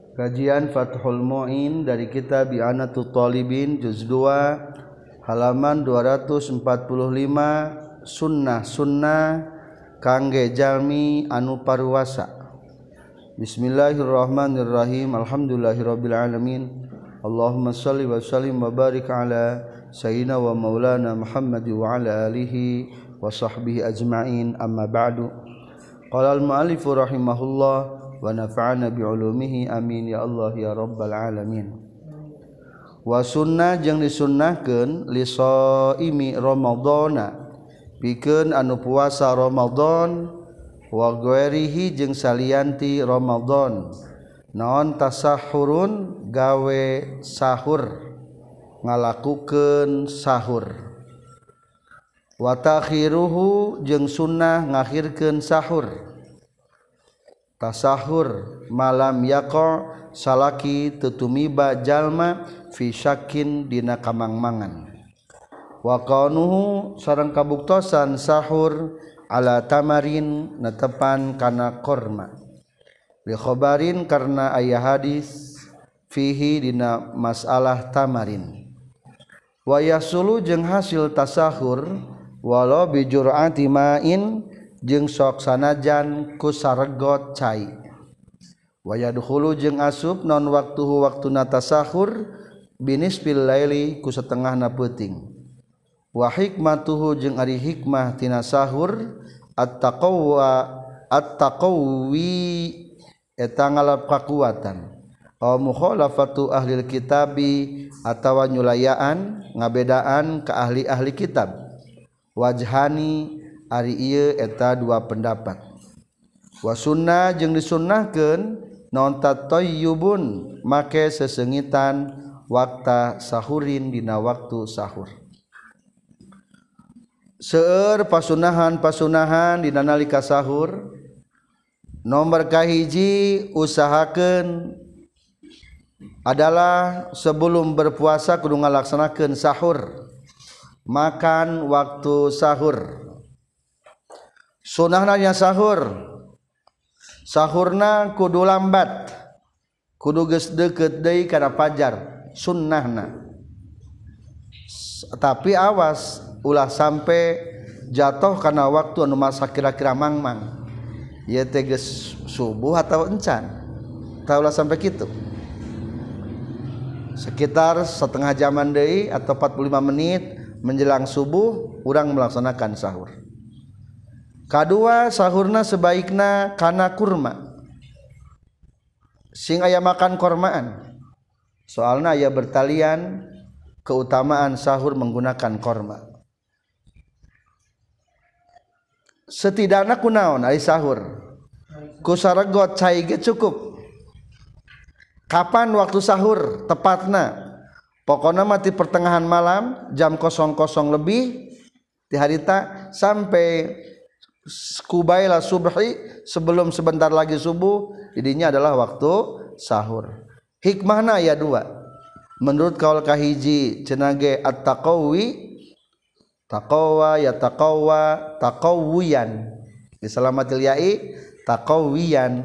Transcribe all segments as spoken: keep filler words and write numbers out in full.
Kajian Fathul Mu'in dari kitab I'anatul Talibin juz dua halaman dua ratus empat puluh lima. Sunnah-sunnah kangge jalmi anu paruwasa. Bismillahirrahmanirrahim. Alhamdulillahirabbil alamin. Allahumma shalli wa sallim wa barik ala sayyidina wa maulana Muhammad wa ala alihi wa sahbihi ajma'in. Amma ba'du. Qala al-mu'allif rahimahullah wa nafa'ana bi'ulumihi amin ya Allah ya rabbal alamin. Wa sunnah jeung disunnahkeun li shaimi ramadhana pikeun anu puasa Ramadan wa ghairihi jeung salianti Ramadan naon tasahurun gawe sahur ngalakukeun sahur wa takhiruhu jeung sunnah ngakhirkeun sahur tasahur malam yaqa salaki tutumiba jalma fi syakin dina kamangmangan wa qanuhu sareng kabuktosan sahur ala tamarin netepan kana korma li khabarin karna aya hadis fihi dina masalah tamarin wa yasulu jeung hasil tasahur walau bi jur'ati ma'in jeung sok sanajan ku saregot cai wa yadkhulu jeung asup non waktuhu waktuna tasahur binisfil laili ku satengahna peuting wa hikmatuhu jeung ari hikmah tina sahur at-taqwa at-taqwi eta ngalap kakuatan aw mukhalafatu ahlil kitabi atawa nyulayaan ngabedaan ka ahli-ahli kitab wajhani ari ieu eta dua pendapat wa sunnah jeung disunnahkeun naon tatayyubun make sesengitan wakta sahurin dina waktu sahur seueur pasunahan-pasunahan dina nalika sahur nomor kahiji usahakeun adalah sebelum berpuasa kudu ngalaksanakeun sahur makan waktu sahur sunnahna nya sahur sahurna kudu lambat kudu geus deukeut deui kana fajar sunnahna tapi awas ulah sampai jatuh kana waktu anu masa kira-kira mangmang ieu teh geus subuh atau encan tah ulah sampai kitu sekitar setengah jaman deui atau empat puluh lima menit menjelang subuh urang melaksanakan sahur. Kadua sahurna sebaikna kana kurma sing aya makan kormaan soalna aya bertalian keutamaan sahur menggunakan korma setidakna kunaon ari sahur ku saregot cai ge cukup kapan waktu sahur tepatna pokona mah ti pertengahan malam jam kosong kosong lebih di harita sampai kubaila subhi sebelum sebentar lagi subuh didinya adalah waktu sahur. Hikmahna aya dua. Menurut kaul kahiji cenah ge at-taqawi taqawa ya taqawa taqawiyan disalamatil ya'i taqawiyan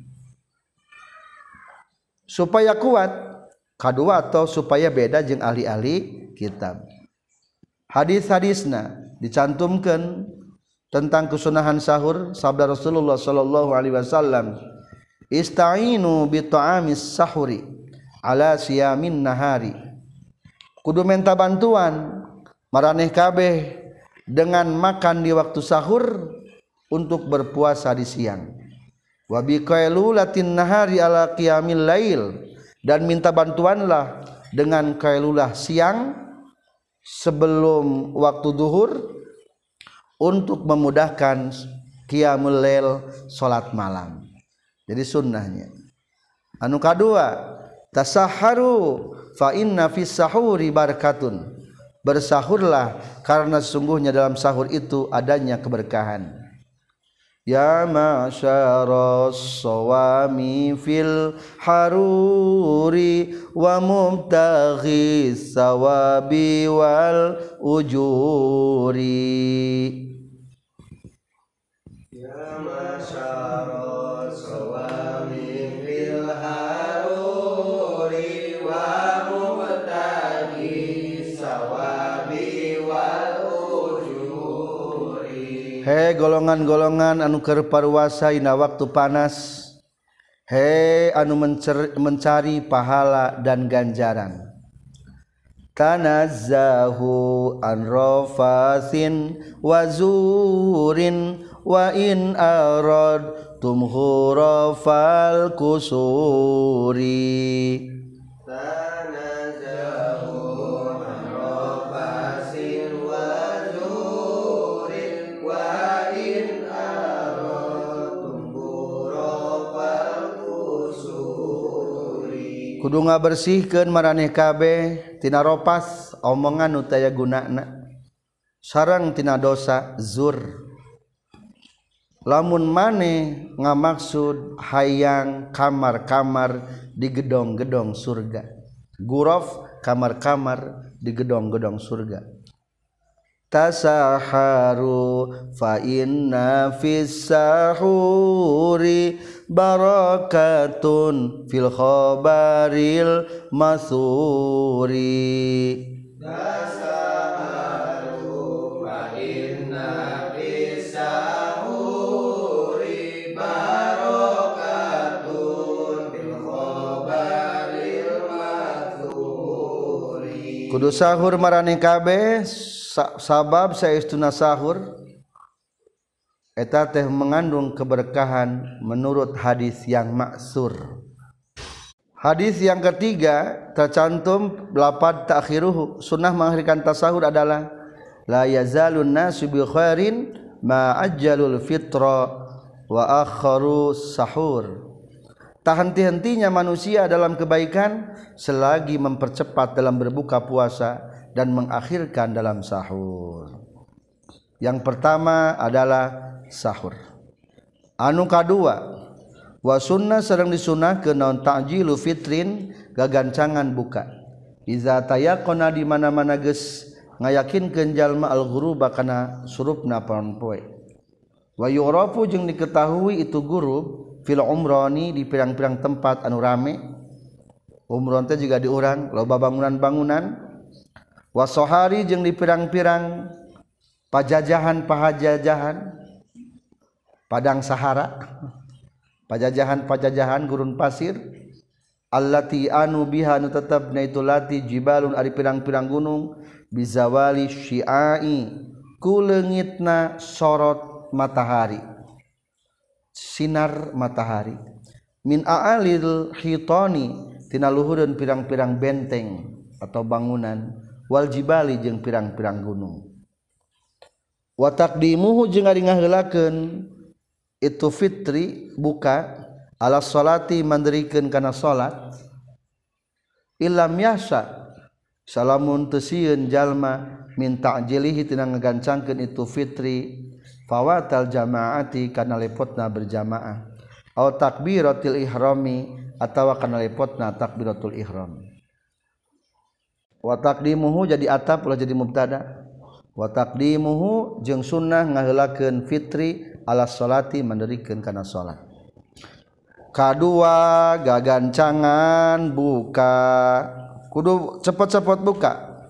supaya kuat kadua atau supaya beda jeung ahli-ahli kitab. Hadis-hadisna dicantumkeun tentang kesunahan sahur sabda Rasulullah sallallahu alaihi wasallam ista'inu bi ta'amis sahuri ala siyamin nahari kudu minta bantuan maraneh kabeh dengan makan di waktu sahur untuk berpuasa di siang wa bi qailulatin nahari ala qiyamil lail dan minta bantuanlah dengan qailulah siang sebelum waktu zuhur untuk memudahkan qiyamul lail salat malam. Jadi sunnahnya. Anu kadua, tasahharu fa inna fis sahuri barakatun. Bersahurlah karena sesungguhnya dalam sahur itu adanya keberkahan. Ya ma'syaras sawami fil haruri wa mubtaghis sawabi wal ujuri. Ya ma'syaras sawami fil haruri He golongan-golongan anu keur parwasa dina waktu panas, he anu mencari pahala dan ganjaran. Tanazzahu an rafasin wa zurin wa in arad tumhurafal kusuri. Tanazzahu an rafasin wa zurin wa in arad tumhurafal kusuri. Kudu ngabersihkeun maraneh kabeh tina ropas omongan nu taya gunana sareng tina dosa zur. Lamun maneh ngamaksud hayang kamar-kamar di gedong-gedong surga, guraf kamar-kamar di gedong-gedong surga. Tasaharu fa inna fis sahuri barakatun fil khabaril masuri. Tasaharu fa inna fis sahuri barakatun fil khabaril masuri. Kudu sahur maraneh kabeh sabab saestuna sahur eta teh mengandung keberkahan menurut hadis yang maksur. Hadis yang ketiga tercantum lapad ta'khiruhu, sunnah mengakhirkan tasahur adalah la yazalun nasu bi khairin ma ajjalul fitra wa akharu sahur. Tak henti-hentinya manusia dalam kebaikan selagi mempercepat dalam berbuka puasa dan mengakhirkan dalam sahur. Yang pertama adalah sahur. Anu kadua wa sunnah sareng disunahkeun naon ta'jilu fitrin gagancangan buka. Iza tayaqana di mana-mana geus ngayakinkeun jalma al-ghuruba kana surupna paon poe. Wa yurafu jeung diketahui itu gurub fil umrani di pirang-pirang tempat anu rame. Umron teh juga diurang loba bangunan-bangunan. Wasohari jeung di pirang-pirang pajajahan-pajajahan padang sahara, pajajahan-pajajahan gurun pasir, allati anu biha anu tetepna itu lati jibalun ari pirang-pirang gunung bizawali syiai ku leungitna sorot matahari, sinar matahari, min aalil hitani tina luhureun pirang-pirang benteng atau bangunan, wal jibali jeung pirang-pirang gunung. Wa taqdimuhu jeung ari ngaheulakeun itu fitri buka ala salati mandirikeun kana salat illam yasa salamun teu sieun jalma min ta'jilihi tina ngagancangkeun itu fitri fawatal jamaati kana lepotna berjamaah au takbiratul ihrami atawa kana lepotna takbiratul ihram. Wa taqdimuhu jadi atap ulah jadi mubtada. Wa taqdimuhu jeung sunnah ngaheulakeun fitri ala salati mandirikeun kana salat. Kadua gagancangan buka kudu cepet-cepet buka.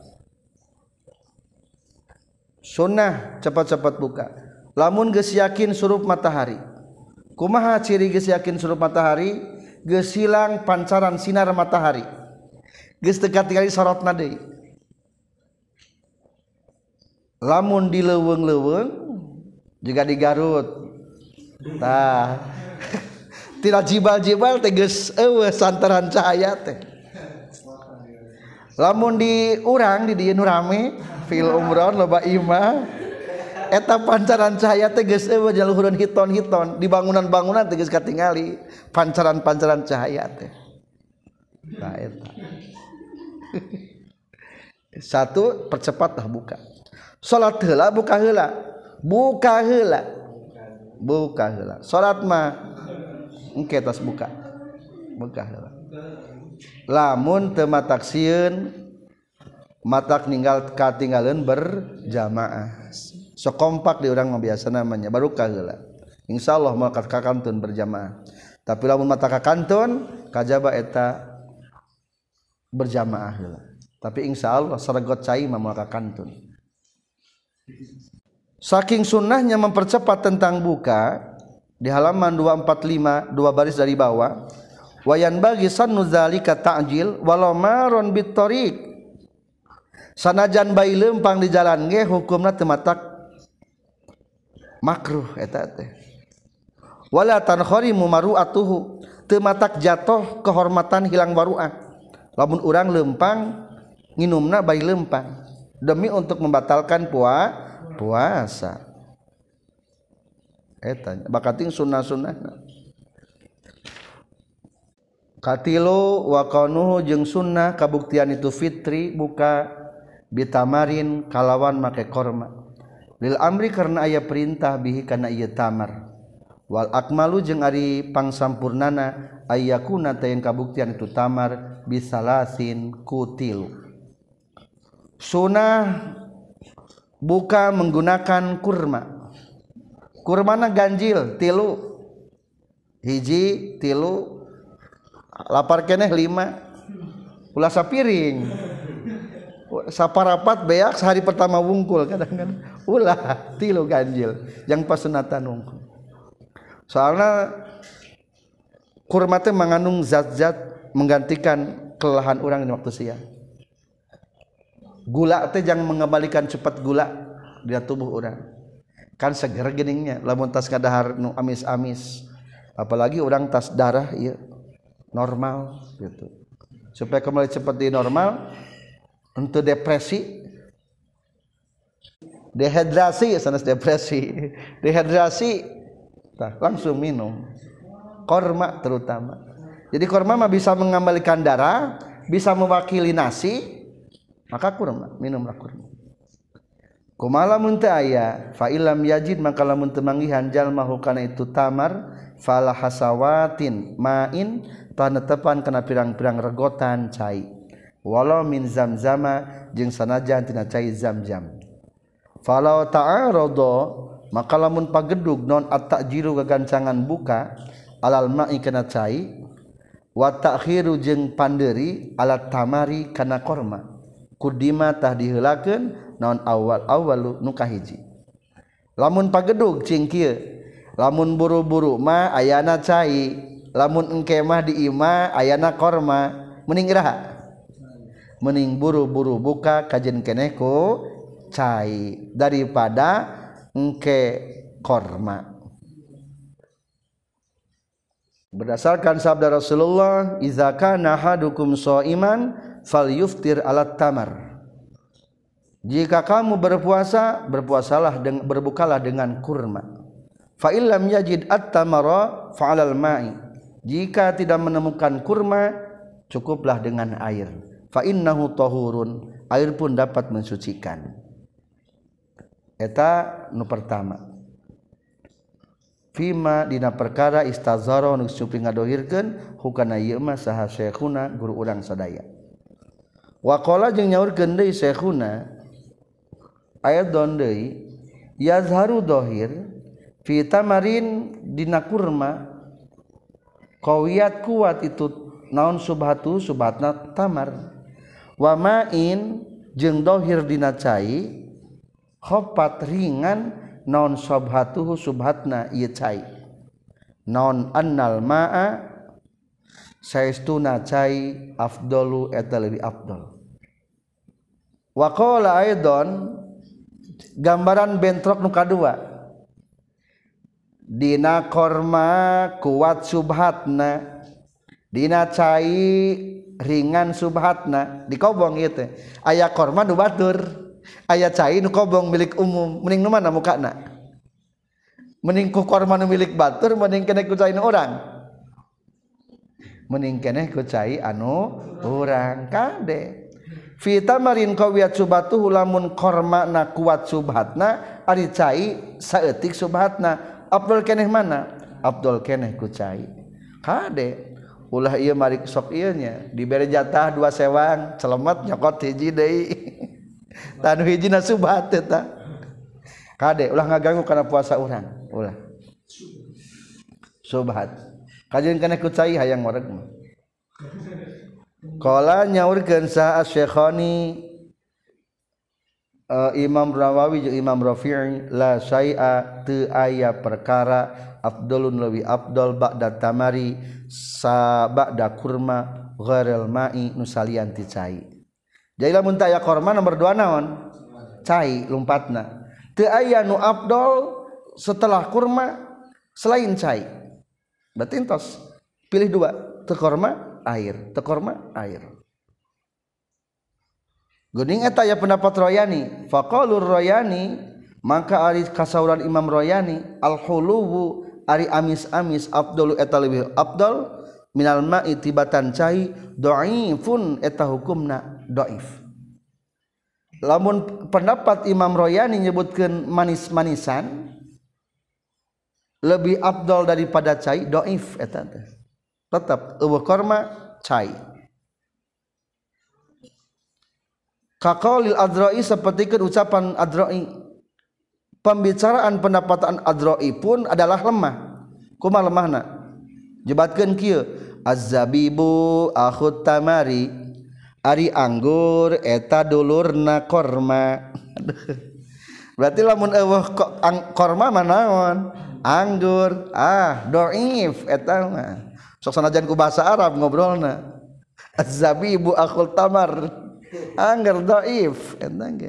Sunnah cepet-cepet buka. Lamun geus yakin surup matahari. Kumaha ciri geus yakin surup matahari? Geus hilang pancaran sinar matahari. Geus teu katingali sorotna deui. Lamun di leuweung-leuweung juga di Garut. Tah. Tina jibal-jibal teh geus eueuh santaran cahaya teh. Lamun di urang di dieu nu rame fil umron loba imah eta pancaran cahaya teh geus eueuh jaluhureun hiton-hiton di bangunan-bangunan teh geus katingali pancaran-pancaran cahaya teh. Nah eta. Satu percepatlah buka. Salat heula buka heula. Buka heula. Buka heula. Salat mah engke tos buka. Buka heula. Lamun teu matak sieun matak ninggal katinggalieun berjamaah. Sok kompak di urang mah biasa namanya baru ka heula. Insyaallah moal kakantun berjamaah. Tapi lamun matak kakantun kajaba eta berjamaah heula. Tapi insyaallah saregot cai mah moal kakantun. Saking sunnahnya mempercepat tentang buka di halaman dua empat lima dua baris dari bawah, wayan bagi sannu zalika ta'jil walau maron bittoriq, sanajan bayi lempang di jalan ge hukumna teu matak makruh eta teh. Wala tankharimu maru'atuhu, teu matak jatuh kehormatan hilang waru'ah. Lamun urang lempang nginumna bayi lempang demi untuk membatalkan puasa puasa eta bakating sunnah-sunnahna. Katilu wa qanuhu jeung sunnah kabuktian itu fitri buka bitamarin kalawan make korma lil amri karena aya perintah bihi kana ieu tamar wal akmalu jeung ari pangsampurnana ayyakuna tayang kabuktian itu tamar bisalasin kutilu. Sunnah buka menggunakan kurma. Kurmana ganjil tilu, hiji tilu, lapar keneh lima, ulah sapiring, saparapat beak sehari pertama wungkul kadang-kadang, ulah tilu ganjil, yang pas sunatan wungkul. Soalnya kurma teh mengandung zat-zat menggantikan kelelahan orang di waktu siang. Gula teh jangan mengembalikan cepat gula di tubuh orang. Kan seger geningnya lamun tas kadahar nu amis-amis, apalagi orang tas darah ieu normal gitu. Supaya kembali cepat di normal untuk depresi, dehidrasi sanes depresi, dehidrasi tah langsung minum korma terutama. Jadi korma mah bisa mengembalikan darah, bisa mewakili nasi, maka kurma minumlah kurma. Kumala mun teu aya fa illam yajid maka lamun teu manggihan jalma hukana itu tamar fala hasawatin main panetepan kana pirang-pirang regotan cai walau min zamzama jeung sanajan tina cai zamzam falau ta'arada maka lamun pagedug non at-ta'jiru gagancangan buka alal ma'i kana cai wa ta'khiru jeung pandeuri alat tamari kana korma kudima tah diheulakeun naon awal awalu nu kahiji. Lamun pagedug cing kieu, lamun buru-buru mah ayana cai, lamun engke mah di imah ayana korma, mending iraha? Mending buru-buru buka kajen keneh ku cai daripada engke korma. Berdasarkan sabda Rasulullah, "Idza kana ahadukum sha'iman falyuftir alat tamar." Jika kamu berpuasa, berpuasalah dengan berbukalah dengan kurma. Fa illam yajid at-tamara fa 'alal ma'i. Jika tidak menemukan kurma, cukuplah dengan air. Fa innahu tahurun. Air pun dapat mensucikan. Eta nu pertama. Fima dina perkara istazara nu supi ngadohirkeun hukana ieu mah saha syekhuna guru urang sadaya. Wa qala jeung nyaurkeun deui syekhuna ayat dondei yazharu dohir fi tamarin dina kurma qawiyat kuat itu naon subhatu subhatna tamar wa ma'in jeung dohir dina cai khafat ringan naon subhatuhu subhatna ieu cai naon annal ma'a saestuna cai afdalu eta leuwih afdal wa qala aidan gambaran bentrok nu kadua dina korma kuat subhatna dina cai ringan subhatna dikobong ieu teh aya korma nu batur aya cai nu kobong milik umum mending nu mana mukana mending ku korma nu milik batur mending keneh ku cai nu urang mending keneh ku cai anu urang kade fi tamarin qawiyat subhatuhu lamun korma na kuat subhatna ari cai saeutik subhatna afdal keneh mana afdal keneh ku cai kade ulah ieu mari sok ieu nya dibere jatah dua sewang celemet nyokot hiji deui tanu hijina subhat eta kade ulah ngaganggu kana puasa urang ulah subhat kajeun keneh ku cai hayang wareg mah. Qala nyaurkeun sa Asy-Syekhani uh, Imam Rawawi jeung Imam Rafi'i la syai'a teu aya perkara afdalun leuwih afdal ba'da tamari sa ba'da kurma ghairil ma'i nu salian ti cai. Jadi lamun teu aya kurma nomor dua naon? Cai lumpatna. Teu aya nu afdal setelah kurma selain cai. Berarti entos pilih dua, teu kurma air, teu kurma air. Geuning eta aya pendapat Royani, faqalur Royani maka ari kasauran Imam Royani al-huluwu ari amis-amis afdalu eta leuwih afdal minal ma'i tibatan cai dhaifun eta hukumna dhaif. Lamun pendapat Imam Royani nyebutkeun manis-manisan lebih afdal daripada cai dhaif eta teh. Tetap eueuh korma cai. Kaqaulil Adra'i sapertikeun ucapan Adra'i, pembicaraan pendapatan Adra'i pun adalah lemah. Kumaha lemahna? Jebatkeun kieu, az-zabibu akhut tamari, ari anggur eta dulurna korma. Berarti lamun eueuh korma mah naon? Anggur. Ah, dhaif eta mah. Sok sanajan ku bahasa Arab ngobrolna. Az-zabibu akhul tamar. Anggur dhaif eta ge.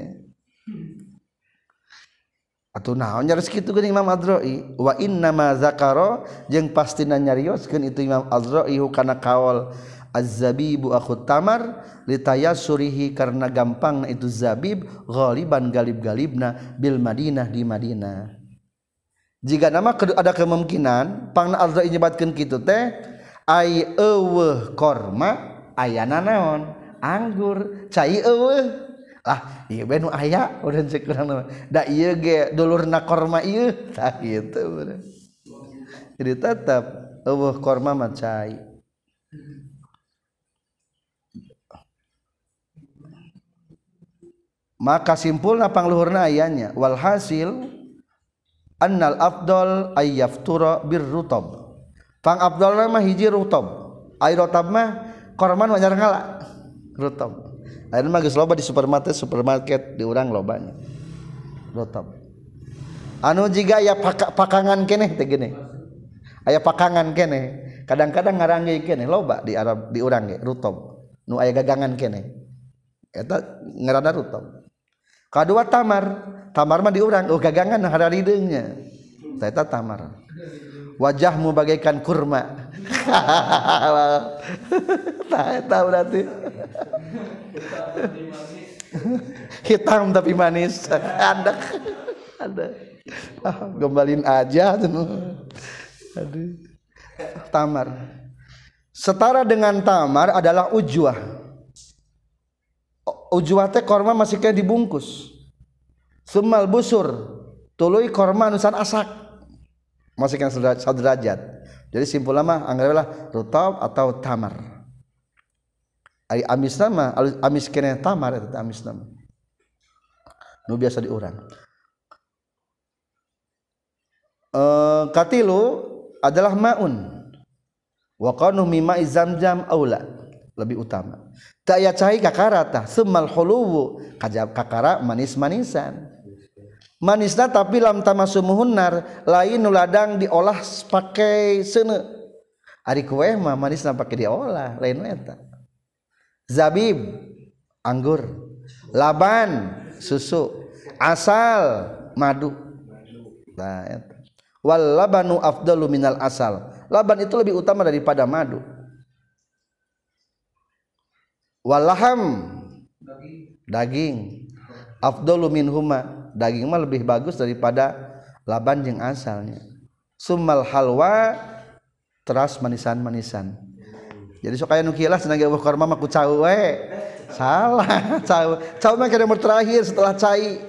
Atuh naon nyaris kitu geuning Imam Adra'i, wa inna ma zakara jeung pastina nyarioskeun itu Imam Adra'i kana kaul az-zabibu akhut tamar litayassurihi karena gampang itu zabib ghaliban galib-galibna bil Madinah di Madinah. Jika nama ada kemungkinan pangna Adra'i nyebatkeun kitu teh ai eueuh korma ayana naon anggur cai eueuh lah ieu bae nu aya urang cek urang da ieu ge dulurna korma ieu tah kitu urang. Jadi tetap eueuh korma mah cai. Maka simpulna pangluhurna ayanya walhasil annal afdal ay yaftura birrutab. Pang afdalna mah hiji rutab. Ai rutab mah korma mah jarang ngala. Rutab. Ayeuna mah geus loba di supermarket supermarket di urang lobanya. Rutab. Anu jiga aya pakangan keneh teh gini. Aya pakangan keneh. Kadang-kadang ngaranggeuy keneh loba di Arab di urang ge rutab. Nu aya gagangan keneh. Eta ngaranna rutab. Kadua tamar. Tamar mah di urang oh gagangan hararideungnya. Eta tamar. Wajahmu bagaikan kurma. Tah eta berarti. Hitam tapi manis. Ada. Ada. Ah, gembalin aja tuh. Aduh. Tamar. Setara dengan tamar adalah ujwah. Ujwah teh korma masih kayak dibungkus. Sumal busur. Tuluy korma nusan asak. Masih kan saderajat. Jadi simpulna mah anggaplah rutab atau tamar. Ai amisna mah amis keneh tamar eta amisna mah. Nu biasa diurang. Eh katilu adalah maun. Wa qanu mimma zamzam aula lebih utama. Ta aya cai kakara tah sumal huluwu kajab kakara manis-manisan. Manisna tapi lam tamasumuhun nar lain nu ladang diolah pakai seuneu. Ari kue mah manisna pake diolah lain eta. Zabib anggur, laban susu, asal madu. Nah eta. Wal labanu afdalu minal asal. Laban itu lebih utama daripada madu. Wal laham daging afdalu minhuma. Daging mah lebih bagus daripada laban jeung asalnya. Summal halwa teras manisan-manisan. Jadi sok aya nu kieulah cenah ge korma mah ku cau we. Salah, cau. Cau mah kada nomor terakhir setelah cai.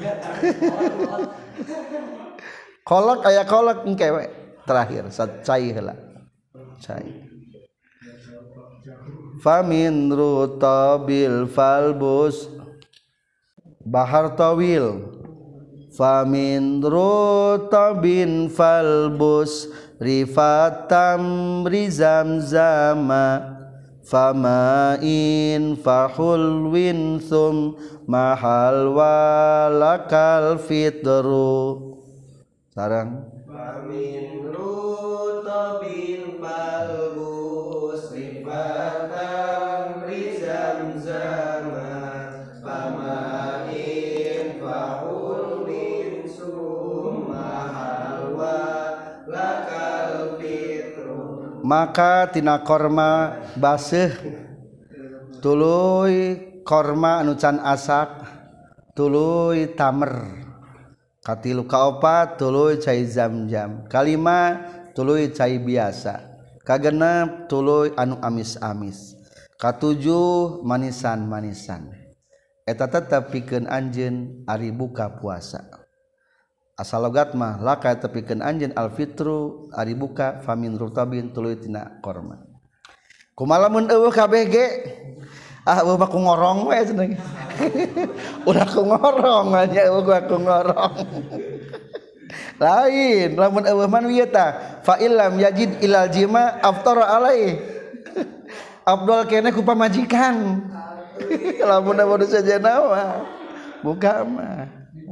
Kolak aya kolak engke we terakhir sat cai heula. Cai. Famin rutabil falbus bahar tawil famin rutabin falbus rifatam rizam zama fama'in fahulwin thum mahal walakal fitru sarang famin rutabin palbus ribatam rizam zaman fama'in fahulwin thum mahal walakal fitru maka tina korma baseuh tuluy korma anu can asak tuluy tamer katilu kaopat tuluy cai zam-zam kalima tuluy cai biasa kagenep tuluy anu amis-amis katujuh manisan-manisan eta tetep pikeun anjeun ari buka puasa asal logat mah laka tepikeun anjeun alfitru ari buka famin rutabin tuluy tina korma kumaha mun eueuh kabeh ge ah eueuh mah ku ngorong we cenah udah ku ngorong nya eueuh ku ngorong lain lamun eueuh man wieu tah fa illam yajid ilal jima aftara alai afdal keneh ku pamajikan lamun anu sajana mah buka mah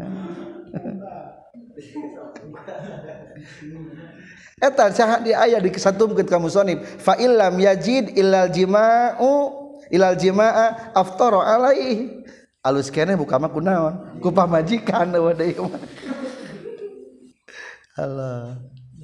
eta saha di aya disatumkeun ka musannif fa illam yajid ilal jima'u ilal jima'a aftara alaihi alus keneh buka mah kunaon ku pamajikan eueuh deui mah Allah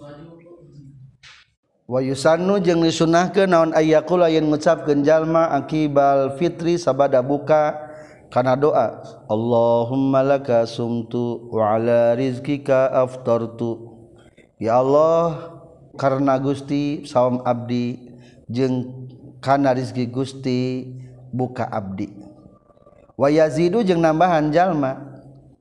wa yusannu jeung disunahkeun naon ayyaqula yen ngucapkeun jalma akibal fitri sabada buka kana doa Allahumma laka sumtu wa ala rizqika aftartu ya Allah karena Gusti saum abdi jeung kana rizki Gusti buka abdi wa yazidu jeung nambahan jalma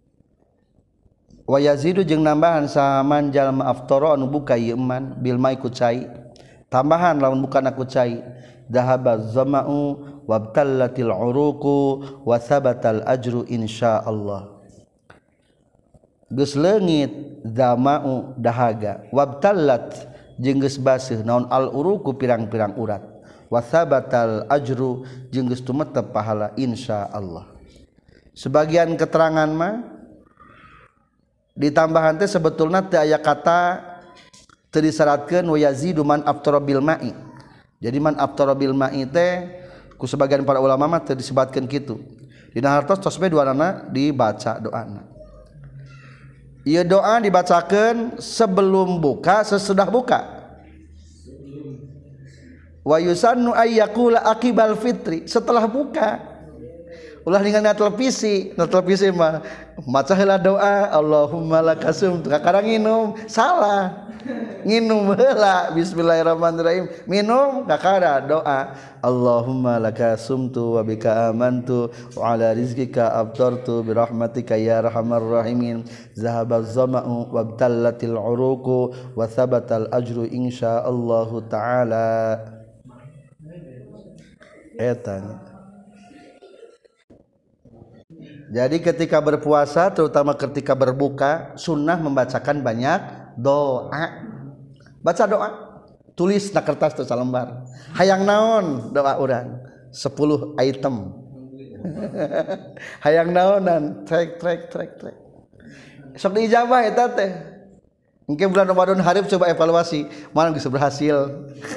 wa yazidu jeung nambahan saman jalma aftara anu buka ieu man bil mai ku cai tambahan lamun bukan aku cai dhahaba zama'u wabtallatil uruqu wa thabatal ajru insyaallah geus leungit zama'u dahaga wabtallat jeung geus baseuh naon al uruqu pirang-pirang urat wa thabatal ajru jeung geus tumetep pahala insyaallah sebagian keterangan mah ditambahan teh sebetulna teu aya kata teu disyaratkeun wa yazidu man aftara bil ma'i jadi man aftara bil ma'i teh ku sebagian para ulama mah teu disebutkeun kitu dina hartos tos bae duanana dibaca doana ieu doa dibacakeun sebelum buka sesudah buka wa yusannu ay yaqula aqibal fitri setelah buka ulah ningali televisi na televisi mah maca heula doa Allahumma lakasum kakarang nginum salah nginum heula bismillahirrahmanirrahim minum kakara doa Allahumma lakasumtu wa bika amantu wa ala rizqika aftartu bi rahmatika ya arhamar rahimin zahabaz zama'u wabtallatil uruqu wa thabatal ajru insyaallah taala etan. Jadi ketika berpuasa terutama ketika berbuka sunnah membacakan banyak doa. Baca doa, tulis na kertas teu salembar. Hayang naon doa urang sepuluh item. Hayang naonan trek trek trek trek. Sok diijabah eta teh. Engke bulan Ramadan hareup coba evaluasi, mana geus berhasil.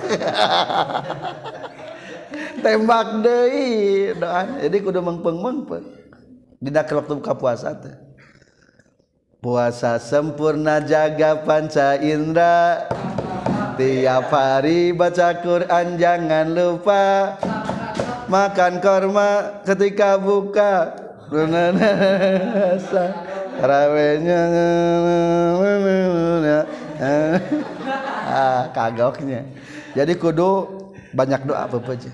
Tembak deui doa. Jadi kudu mengpeng-mengpeng. Dina waktu buka puasa teh. Puasa sempurna jaga panca indera. Tiap hari baca Quran jangan lupa. Makan korma ketika buka. Tarawihnya ah kagoknya. Jadi kudu banyak doa apa aja.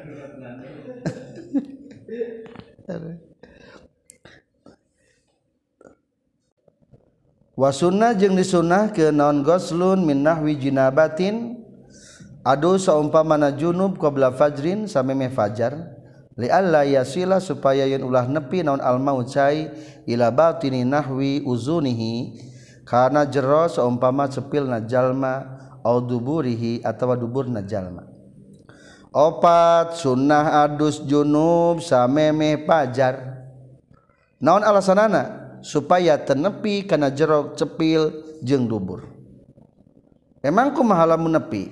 Wa sunnah jeung disunahkeun naon ghuslun min nahwi jinabatin adu saumpamana junub qabla fajrin samemeh fajar li alla yasila supaya yen ulah nepi naon al maut cai ila batini nahwi uzunihi kana jero saumpama cepilna jalma au duburihi atawa duburna jalma Opat sunnah adus junub samemeh pajar. Naon alasanana? Supaya tenepi kana jerok cepil jeung dubur. Emang kumaha lamun nepi?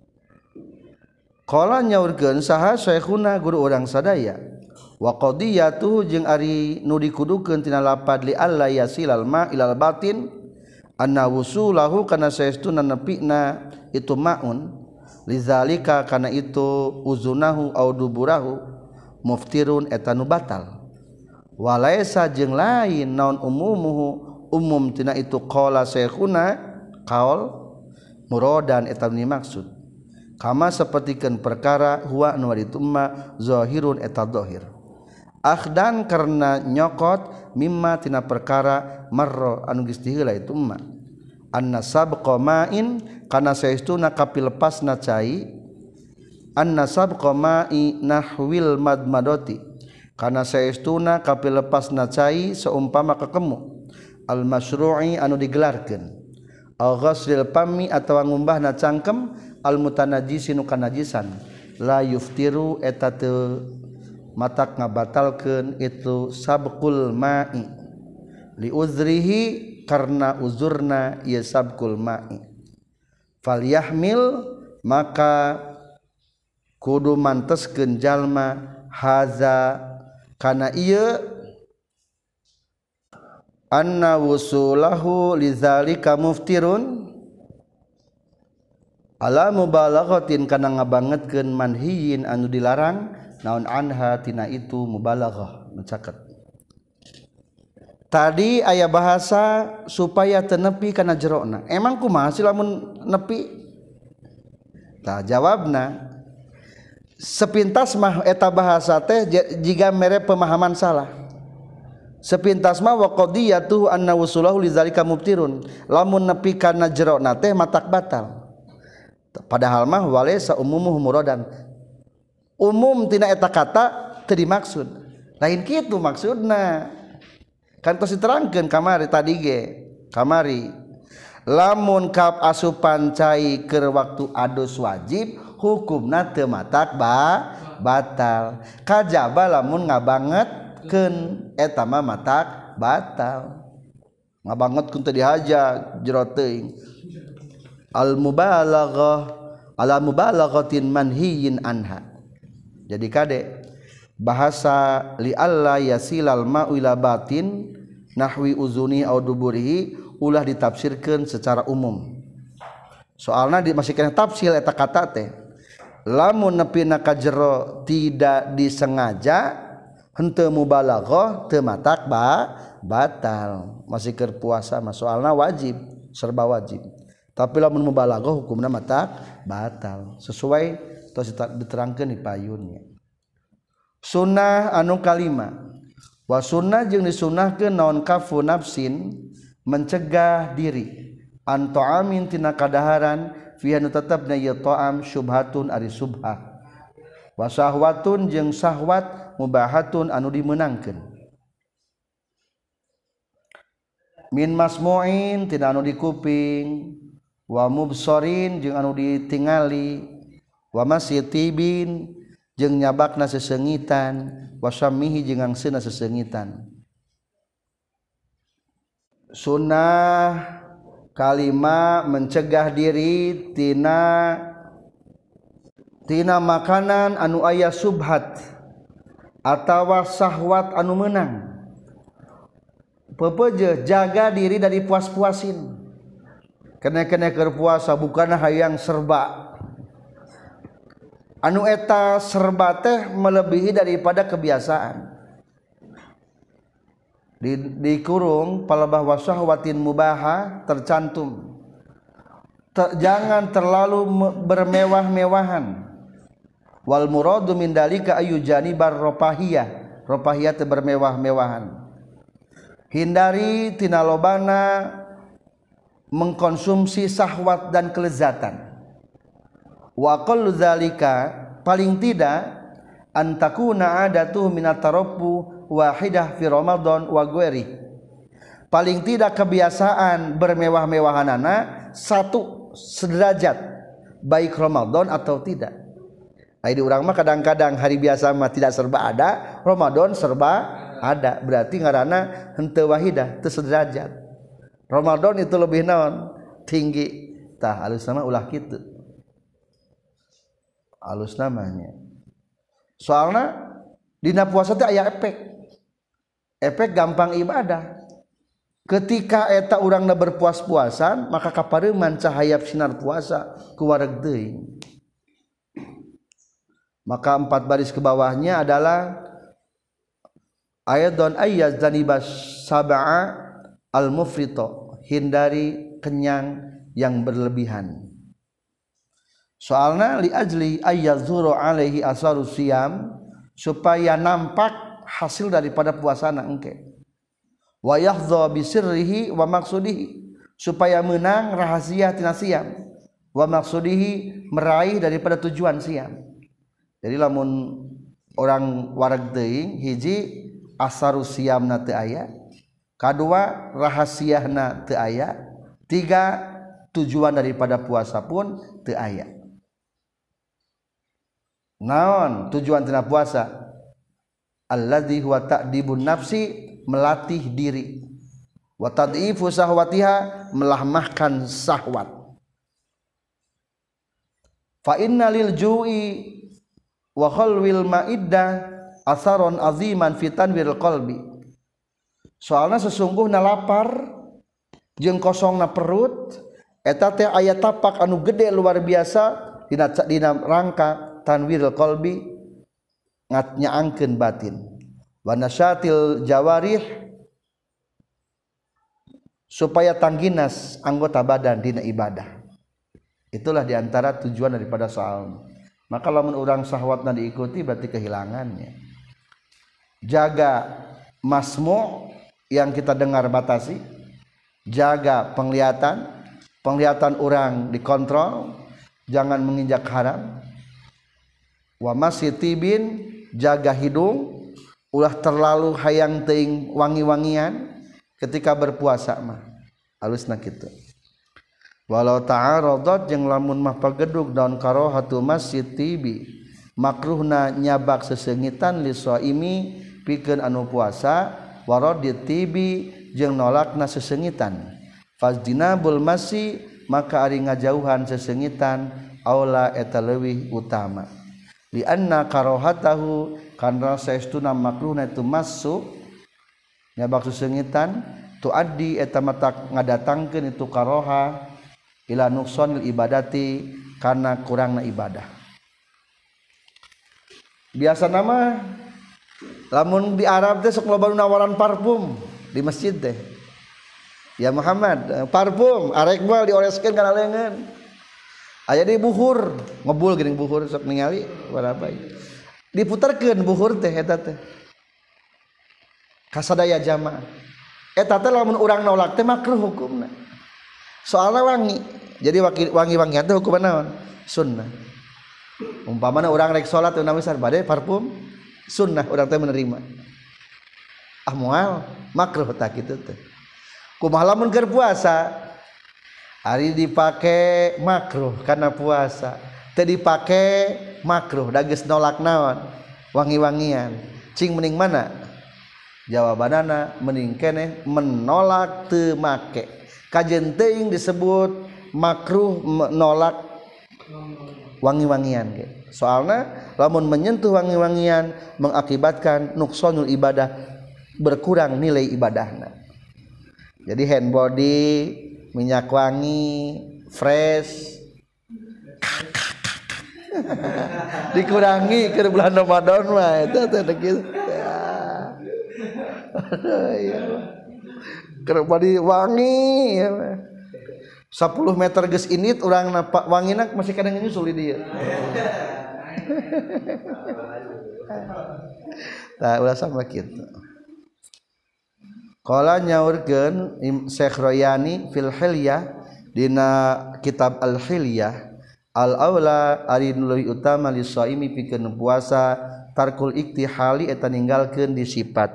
Qala nyaurkeun saha syekhuna guru urang sadaya. Wa qadiyatuhu jeung ari nu dikudukeun tina lapad li alla yasilal ma ilal batin anna wusulahu kana saestuna nepina itu maun lizalika kana itu uzunahu au duburahu muftirun eta nu batal. Walaisa jeung lain naon umumuhu umum tina itu qala syekhuna qaul muradan eta dimaksud kama sapertikeun perkara huwa anu ditumma zahirun eta zahir akhdan karena nyokot mimma tina perkara marra anu geus diheula itu ma anna sabqa ma'in kana saestuna kapilepasna cai anna sabqa ma'i nahwil madmadati kana saestuna kapilepasna cai seumpama kakemu al masyru'i anu digelarkeun al ghasril pami atawa ngumbahna cangkem al mutanajjisi nu kanajisan la yuftiru eta teu matak ngabatalkeun itu sabqul ma'i li uzrihi karna uzurna ieu sabqul ma'i falyahmil maka kudu manteskeun jalma haza kana ieu anna wusulahu lidzalika muftirun ala mubalaghatin kana ngabangetkeun manhiyin anu dilarang naon anha tina itu mubalaghah mencaket. Tadi aya bahasa supaya teu nepi kana jerona. Emang kumaha sih lamun nepi? Tah jawabna sepintas mah eta bahasa teh jiga mere pemahaman salah. Sepintas mah wa qadiyatuhu anna wusulahu lidzalika mubtirun. Lamun nepi kana jerona teh matak batal. Padahal mah walaysa umumuhu muradan. Umum tina eta kata teu dimaksud. Lain kitu maksudna. Kan tos diterangkeun kamari tadi ge. Kamari lamun kap asupan cai keur waktu adus wajib hukumna teu matak ba batal. Kajaba lamun ngabangetkeun eta mah matak batal. Ngabangetkeun teu dihaja jero teuing. Al mubalaghah ala mubalaghatin manhiyin anha. Jadi kade bahasa li alla yasilal ma'u ila batin nahwi uzuni au duburihi ulah ditafsirkeun secara umum. Soalna di masih kena tafsir eta kata teh. Lamun nepina ka jero tidak disengaja henteu mubalaghah teu matak ba batal. Masih keur puasa mah soalna wajib, serba wajib. Tapi lamun mubalaghah hukumna matak batal. Sesuai tos diterangkeun di payunnya. Sunnah anu kalima. Wa sunnah jeung disunnahkeun naon kafu nafsin mencegah diri an ta'amin tina kadaharan fi anu tetepna ieu ta'am syubhatun ari subhah. Wa syahwatun jeung syahwat mubahatun anu dimeunangkeun. Min masmu'in tina anu dikuping wa mubsarin jeung anu ditingali wa masyitibin jeung nyabakna sesengitan wa syamihi jeung angseuna sesengitan. Sunnah kalima mencegah diri tina tina makanan anu aya subhat atawa syahwat anu meunang. Pepeje jaga diri dari puas-puasin. Kene-kene keur puasa bukan hayang serba. Anu eta serba teh melebihi daripada kebiasaan. Di dikurung palebah wasahwatin mubaha tercantum. Ter, jangan terlalu bermewah-mewahan. Wal muradu min dalika ayu janibar ropahiyah. Ropahiyah teh bermewah-mewahan. Hindari tina lobana mengkonsumsi syahwat dan kelezatan. Wa qallu dzalika paling tidak antakuna adatuh minat tarabbu wahidah fi Ramadan wa ghairi. Paling tidak kebiasaan bermewah-mewahanana satu sederajat baik Ramadan atau tidak. Ai di urang mah kadang-kadang hari biasa mah tidak serba ada, Ramadan serba ada. Berarti ngaranna henteu wahidah, teu sederajat. Ramadan itu lebih naon? Tinggi. Tah alus nama ulah kitu. Alus namanya. Soalna dina puasa teh aya efek. Efek gampang ibadah. Ketika eta urangna berpuas-puasan, maka kapareuman cahaya sinar puasa ku wareg teuing. Maka empat baris ke bawahnya adalah ayadun ayyazanibas sab'a al-mufrito, hindari kenyang yang berlebihan. Soalna li ajli ayyazuru alaihi asaru siyam, supaya nampak hasil daripada puasana engke. Wa yahdha bi sirrihi wa maqsudihi, supaya menang rahasia tina siam, wa maqsudihi meraih daripada tujuan siam. Jadi lamun orang wareg teuing hiji asaru siamna teu aya, kadua rahasiana teu aya, tiga tujuan daripada puasa pun teu aya. Naon tujuan tina puasa? Alladzi huwa ta'dibun nafsi, melatih diri, wa tad'ifu sahwatiha, melamahkan syahwat. Fa innalil ju'i wa khalwil ma'iddah asaron aziman fi tanwiril qalbi. Soalna sesungguhna lapar jeung kosongna perut eta teh aya tapak anu gede luar biasa dina dina rangka tanwiril qalbi, nyaangkeun batin. Wa nasyatil jawarih, supaya tangginas anggota badan dina ibadah. Itulah diantara tujuan daripada saum. Maka lamun urang syahwatna diikuti berarti kehilangannya. Jaga masmu' yang kita dengar batasi, jaga penglihatan, penglihatan orang dikontrol, jangan menginjak haram. Wa masitibin, jaga hidung, ulah terlalu hayang teuing wangi-wangian ketika berpuasa mah alusna kitu. Walau ta'aradat jeung lamun mah pagedug daun karahatu masitibi, makruhna nyabak sesengitan li shaimi pikeun anu puasa, waradit tibi jeung nolakna sesengitan. Fazdinabul masi, maka ari ngajauhan sesengitan aula eta leuwih utama. Li anna karahatahu, karena saestuna makruhna itu masuk nyabak sesengitan tuaddi eta matak ngadatangkeun itu karoha ila nuqsanil ibadati, karena kurangna ibadah. Biasa nama lamun di Arab teh sok loba nawaran parfum di masjid teh. Ya Muhammad, parfum arek moal dioreskeun kana leungeun. Aya di buhur, ngebul geuning buhur sok ningali baraha diputarkeun buhur teh eta teh kasadaya jamaah. Eta teh lamun urang nolak teh makruh hukumna. Soalna wangi. Jadi wangi-wangian teh hukumna naon? Sunnah. Umpamana urang rek salat teu namisar bade parfum, sunnah urang teh menerima. Ah moal makruh tah kitu teh. Kumaha lamun keur puasa? Ari dipake makruh karena puasa. Teu dipake makruh da geus nolak naon? Wangi-wangian. Cing mending mana? Jawabanana mending keneh menolak teu make. Kajen teuing disebut makruh menolak wangi-wangian ge. Soalna lamun menyentuh wangi-wangian mengakibatkan nuqsanul ibadah, berkurang nilai ibadahna. Jadi hand body, minyak wangi, fresh dikurangi ke bulan Ramadan mah eta teh kitu. Keur body wangi ya. sepuluh meter geus init urang wangina masih kadang nyusul di dieu. Tah ulah sama kitu. Qala nyaurkeun Syekh Royani fil Hilyah dina kitab Al Hilyah, al aula ari nu leuwih utama li shaimi pikeun puasa tarkul iktihali eta ninggalkeun disipat.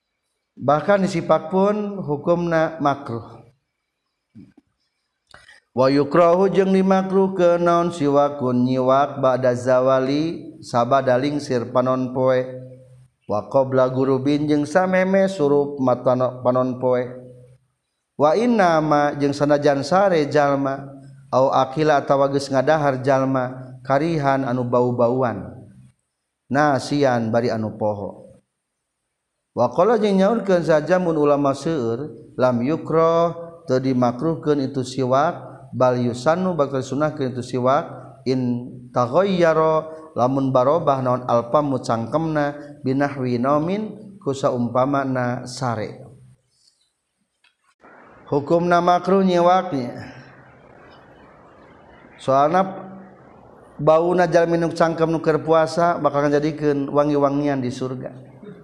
Bahkan disipat pun hukumna makruh. wa yukrahu jeung dimakruh ke naon siwakun nyiwak ba'da zawali sabada lingsir panon poe wa qabla gurubin jeung sameme surup mata panon poe wa inna ma jeung sanajan sare jalma au akila atawa geus ngadahar jalma karihan anu bau-bauan nasian bari anu poho wa qala jeung nyaurkeun saja mun ulama seueur lam yukrah teu dimakruhkeun itu siwak bal yusannu bakal sunahkeun itu siwak in taghayyara lamun barobah naon alpam cangkemna binahwi naumin ku saumpamana sare hukumna makruh nyiwaknya soalna bauna jalmi nu cangkem nu keur puasa bakal ngajadikeun wangi-wangian di surga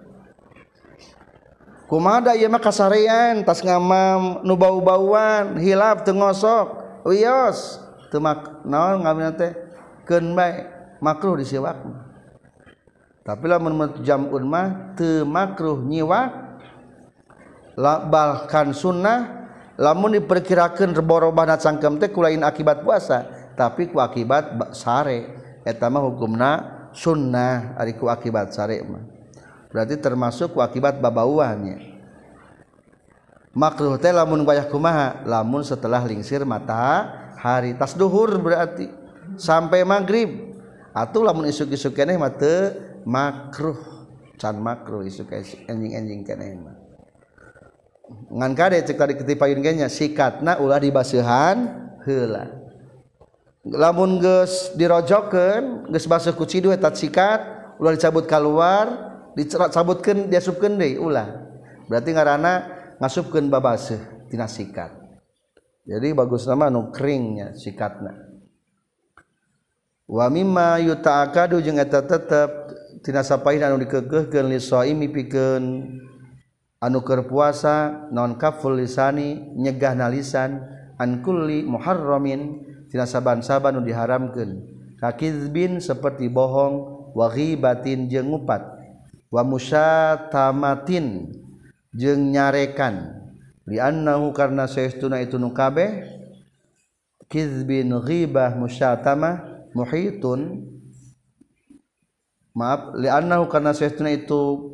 kumaha da ieu mah kasarean tas ngamam nu bau-bauan hilap teu ngosok wios teu mak naon ngamina teh keun bae makruh disiwak tapi lamun jam'un mah teu makruh nyiwak bahkan sunnah lamun diperkirakeun reborobahna cangkem teh kulain akibat puasa tapi ku akibat sare eta mah hukumna sunnah ari ku akibat sare mah berarti termasuk ku akibat babauannya makruh teh lamun wayah kumaha lamun setelah lingsir matahari tas duhur berarti sampai maghrib atuh lamun isuk-isuk keneh mah teu makruh can makruh isuk enjing-enjing keneh mah ngan kade cek tadi ketipayun ge nya sikatna ulah dibaseuhan heula lamun geus dirojokkeun geus basuh ku cidu eta sikat ulah dicabut keluar dicabutkeun diasupkeun deui ulah berarti ngaranna ngasupkeun babaseuh tina sikat jadi bagus nama anu keringnya sikatna wa mimma yuta'akadu jeung eta tetep tina sapaina anu dikeukeuhkeun li shaimi pikeun anu keur puasa naon kaful lisani nyegahna lisan an kulli muharramin tina saban-saban nu diharamkeun kakizbin seperti bohong wa ghibatin jeung ngupat wa musyatamatin jeung nyarekan li annahu karna saestuna itu nu kabeh kizbin ghibah musyatamah muhitun maaf li annahu karna saestuna itu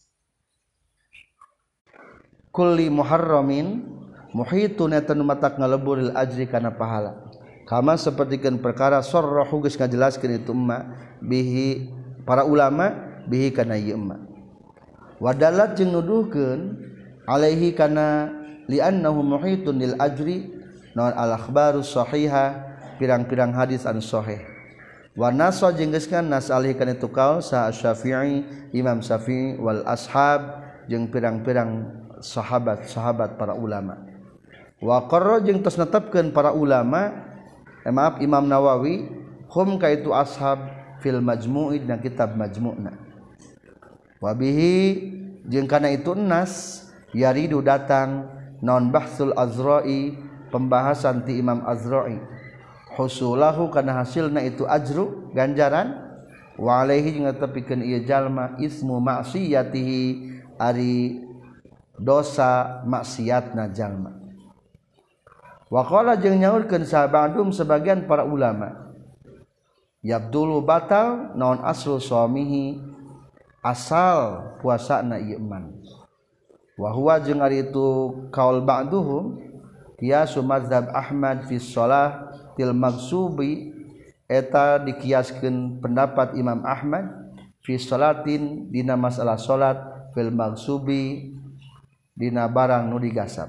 kulli muharramin muhitun eta nu matak ngaleburil ajri kana pahala kama sapertikeun perkara sarrahu geus ngajelaskeun itu emma bihi para ulama bihi kana ieu emma wadalat jeung nuduhkeun alaihi kana li annahu muhitun lil ajri naon al akhbarus sahihah pirang-pirang hadis anu sahih wa nasa jeung geus kan nas alaihi kana itu kaul sa Syafi'i Imam Syafi'i wal ashab jeung pirang-pirang sahabat-sahabat para ulama wa qarra jeung tos netepkeun para ulama eh, maaf Imam Nawawi hum ka itu ashab fil majmu'i dan kitab majmu'na wabihi jeung kana itu nas yaridu datang non bahsul azra'i pembahasan ti Imam Azra'i husulahu kana hasilna itu ajru ganjaran wa alaihi jeung tepikeun ieu jalma ismu maksiyatihi ari dosa maksiatna jalma wa qala jeung nyaurkeun sabadum sebagian para ulama yabdulu batal naon aslu suamihi asal puasana ieu man wa huwa jeung ari itu kaul ba'duhum qiyasu mazhab Ahmad fi shalah til maghsubi eta dikiaskeun pendapat Imam Ahmad fi shalatin dina masalah salat fil maghsubi dina barang nu digasab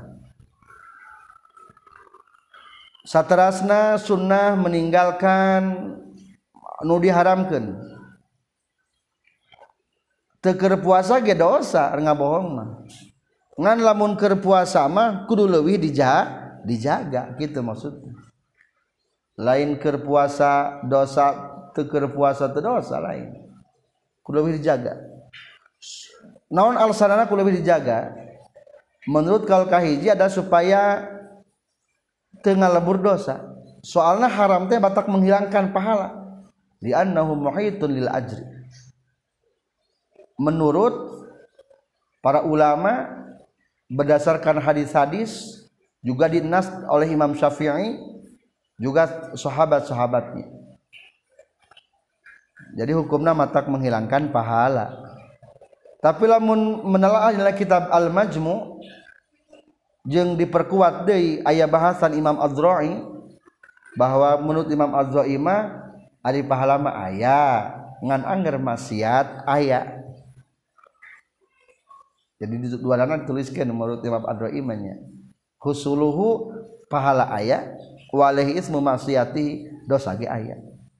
saterasna sunnah meninggalkan nu diharamkeun teu keur puasa ge dosa ngabohong mah ngan lamun keur puasa mah kudu leuwih dijaga dijaga kitu maksudna lain keur puasa dosa teu keur puasa teu dosa lain kudu leuwih dijaga naon alasanna kudu leuwih dijaga menurut kaul kahiji ada supaya teu ngalebur dosa soalna haram teh batak menghilangkan pahala li annahu muhitun lil ajri menurut para ulama berdasarkan hadis-hadis juga dinas oleh Imam Syafi'i juga sahabat-sahabatnya. Jadi hukumna matak menghilangkan pahala. Tapi lamun menelaah dina kitab Al-Majmu' jeung diperkuat deui aya bahasan Imam Az-Za'i bahwa menurut Imam Az-Za'i mah ari pahala mah aya, ngan angger maksiat aya. Jadi di dua dana tuliskeun menurut Imam Az-Za'i mah nya. Husuluhu pahala aya, walaihi ismu maksiati dosa ge aya.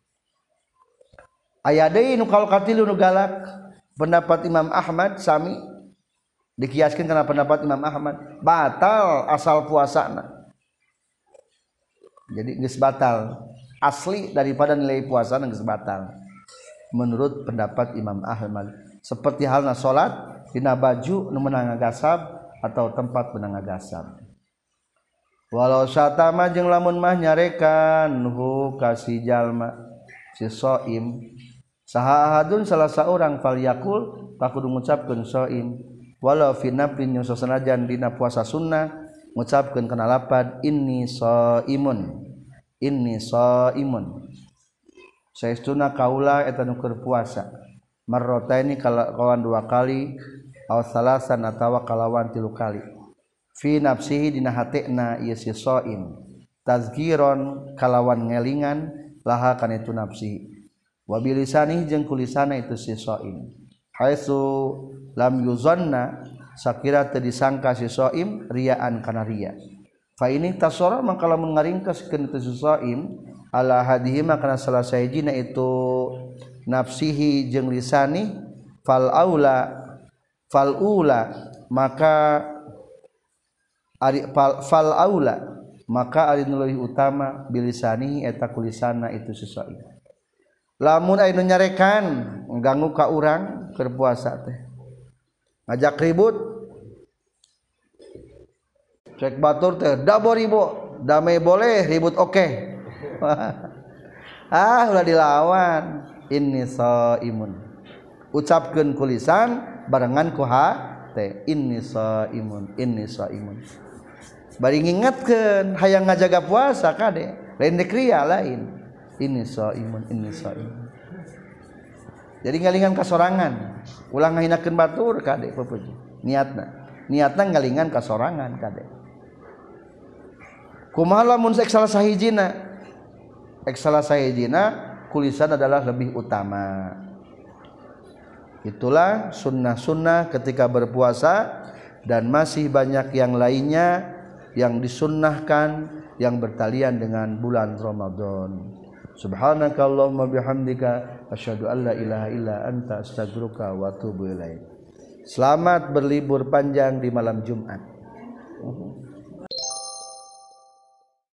Aya deui nu kalkatilu nu galak pendapat Imam Ahmad sami dikiaskeun kana pendapat Imam Ahmad batal asal puasana. Jadi geus batal asli daripada nilai puasa geus batal menurut pendapat Imam Ahmad. Seperti halna salat dina baju nu meunang ngagasab atau tempat meunang ngagasab. Walau satama jeung lamun mah nyarekan hu kasih jalma si shaim saha ahadun salah saurang fal yakul tak kudu ngucapkeun shaim walau fi naflin yang sasanajan dina puasa sunnah ngucapkeun kana lapad inni shaimun inni shaimun saestuna kaula eta nu keur puasa marrataini kalawan dua kali aw salasan atawa kalawan tilu kali fi nafsihi dina hatena ieu si shaim tazkiron kalawan ngelingan laha kana itu nafsi wa bilisani jeung kulisana itu si shaim haitsu lam yuzanna sakira teu disangka si shaim riaan kana ria fa ini tasara mangka lamun ngaringkeskeun itu si shaim ala hadihi kana salah sahijina itu nafsihi jeung lisani fal aula fal ula maka ari fal, fal aula maka ari nu leuwih utama bilisani eta kulisana itu si shaim. Lamun aya nu nyarekan ngganggu ka urang keur puasa teh ngajak ribut cek batur teh dabo ribo damai boleh ribut oke okay. Ah ulah dilawan inni shaimun ucapkeun kulisan barengan ku hate inni shaimun inni shaimun bari ngingetkeun hayang ngajaga puasa kade lain dikria lain inni shaimun inni shaimun. Jadi ngalingan kasorangan ulang ngahinakeun batur kade pepuji niatna niatna ngalingan kasorangan kade kumaha lamun saek salah sahijina ek salah sahijina kulisan adalah lebih utama. Itulah sunnah-sunnah ketika berpuasa dan masih banyak yang lainnya yang disunnahkan yang bertalian dengan bulan Ramadan. Subhanakallahumma bihamdika asyhadu an la ilaha illa anta astaghfiruka wa atubu ilaik. Selamat berlibur panjang di malam Jumat.